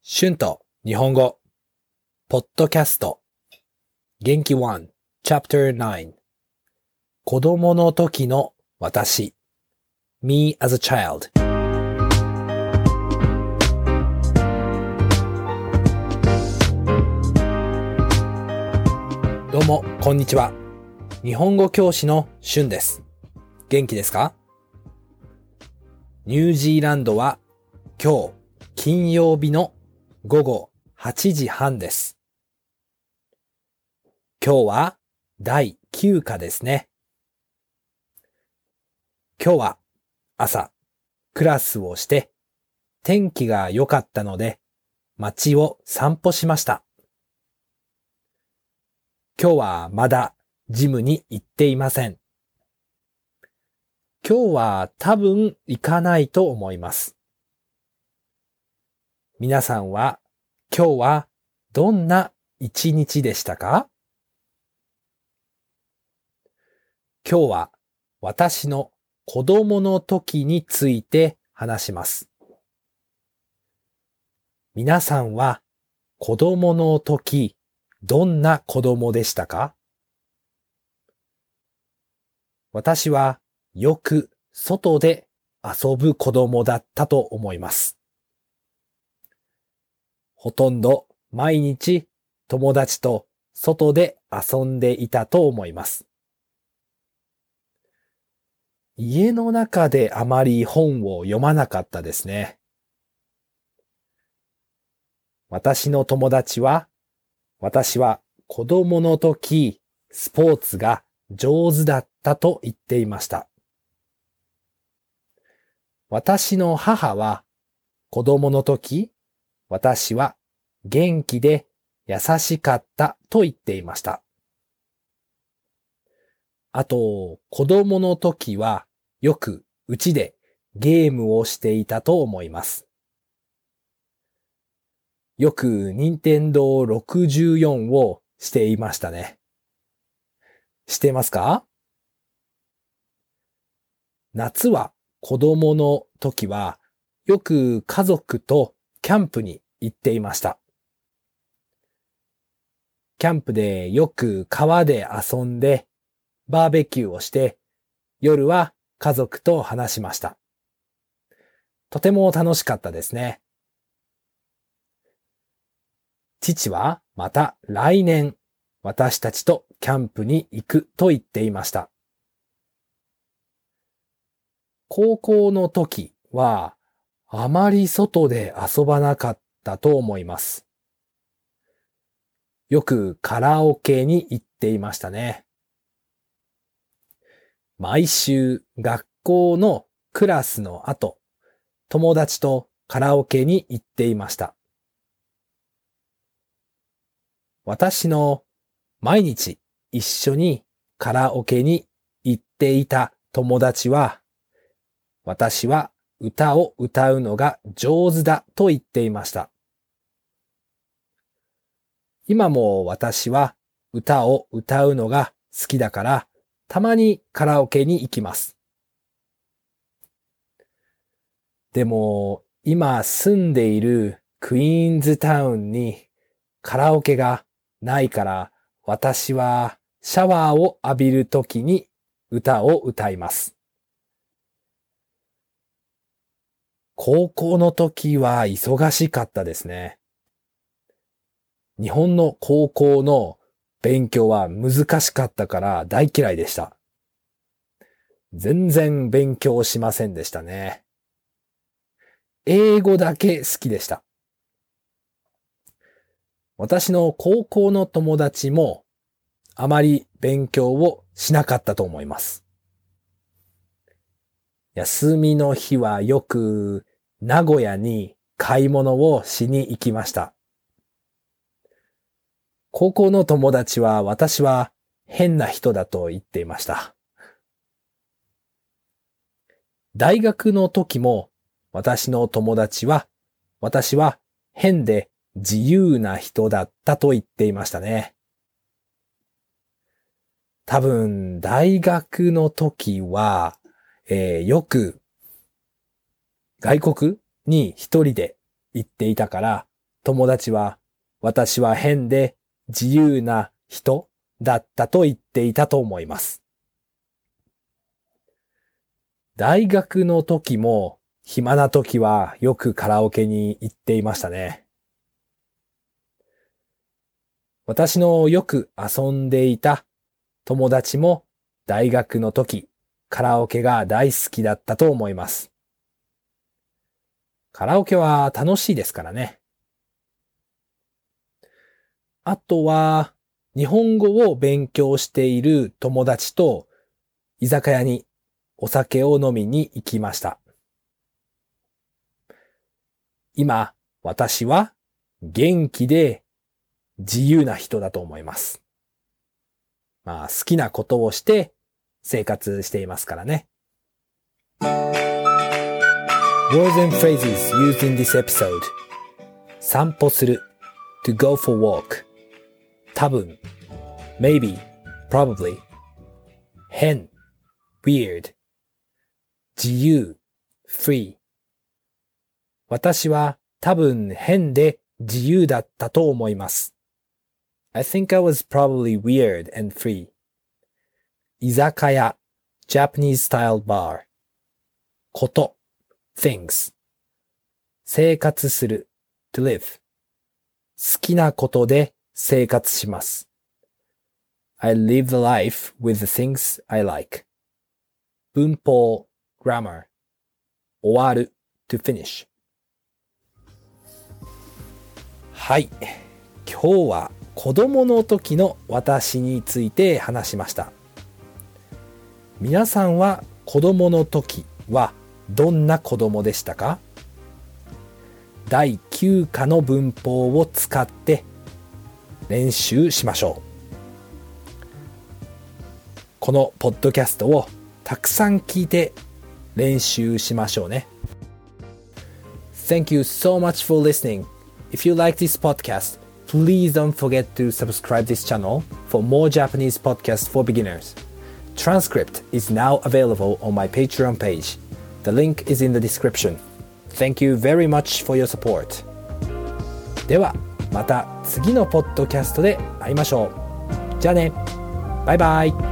春と日本語ポッドキャスト元気1 Chapter 9子供の時の私 Me as a child どうもこんにちは。日本語教師の春です。元気ですか？ニュージーランドは今日金曜日の午後8時半です。今日は第9課ですね。今日は朝クラスをして天気が良かったので街を散歩しました。今日はまだジムに行っていません。今日は多分行かないと思います。皆さんは今日はどんな一日でしたか？今日は私の子供の時について話します。皆さんは子供の時どんな子供でしたか？私はよく外で遊ぶ子供だったと思います。ほとんど毎日友達と外で遊んでいたと思います。家の中であまり本を読まなかったですね。私の友達は、私は子供の時スポーツが上手だったと言っていました。私の母は子供の時、私は元気で優しかったと言っていました。あと、子供の時はよく家でゲームをしていたと思います。よく任天堂64をしていましたね。してますか？夏は子供の時はよく家族とキャンプに行っていました。キャンプでよく川で遊んでバーベキューをして夜は家族と話しました。とても楽しかったですね。父はまた来年私たちとキャンプに行くと言っていました。高校の時はあまり外で遊ばなかったと思います。よくカラオケに行っていましたね。毎週学校のクラスの後、友達とカラオケに行っていました。私の毎日一緒にカラオケに行っていた友達は、私は歌を歌うのが上手だと言っていました。今も私は歌を歌うのが好きだから、たまにカラオケに行きます。でも、今住んでいるクイーンズタウンにカラオケがないから、私はシャワーを浴びるときに歌を歌います。高校の時は忙しかったですね。日本の高校の勉強は難しかったから大嫌いでした。全然勉強しませんでしたね。英語だけ好きでした。私の高校の友達もあまり勉強をしなかったと思います。休みの日はよく名古屋に買い物をしに行きました。高校の友達は私は変な人だと言っていました。大学の時も私の友達は私は変で自由な人だったと言っていましたね。多分大学の時は、よく外国に一人で行っていたから、 友達は私は変で自由な人だったと言っていたと思います。大学の時も暇な時はよくカラオケに行っていましたね。私のよく遊んでいた友達も大学の時カラオケが大好きだったと思います。カラオケは楽しいですからね。あとは日本語を勉強している友達と居酒屋にお酒を飲みに行きました。今、私は元気で自由な人だと思います。好きなことをして生活していますからね。Words and phrases used in this episode. 散歩する to go for walk. 多分 maybe, probably. 変 weird. 自由 free. 私は多分変で自由だったと思います。I think I was probably weird and free. 居酒屋 Japanese style bar. こと things. 生活する to live. 好きなことで生活します。I live the life with the things I like. 文法 grammar. 終わる to finish. はい。今日は子供の時の私について話しました。皆さんは子供の時はどんな子供でしたか？第9課の文法を使って練習しましょう。このポッドキャストをたくさん聞いて練習しましょうね。Thank you so much for listening. If you like this podcast, please don't forget to subscribe this channel for more Japanese podcasts for beginners. Transcript is now available on my Patreon page. The link is in the description. Thank you very much for your support. では、また次のポッドキャストで会いましょう。じゃあね。バイバイ。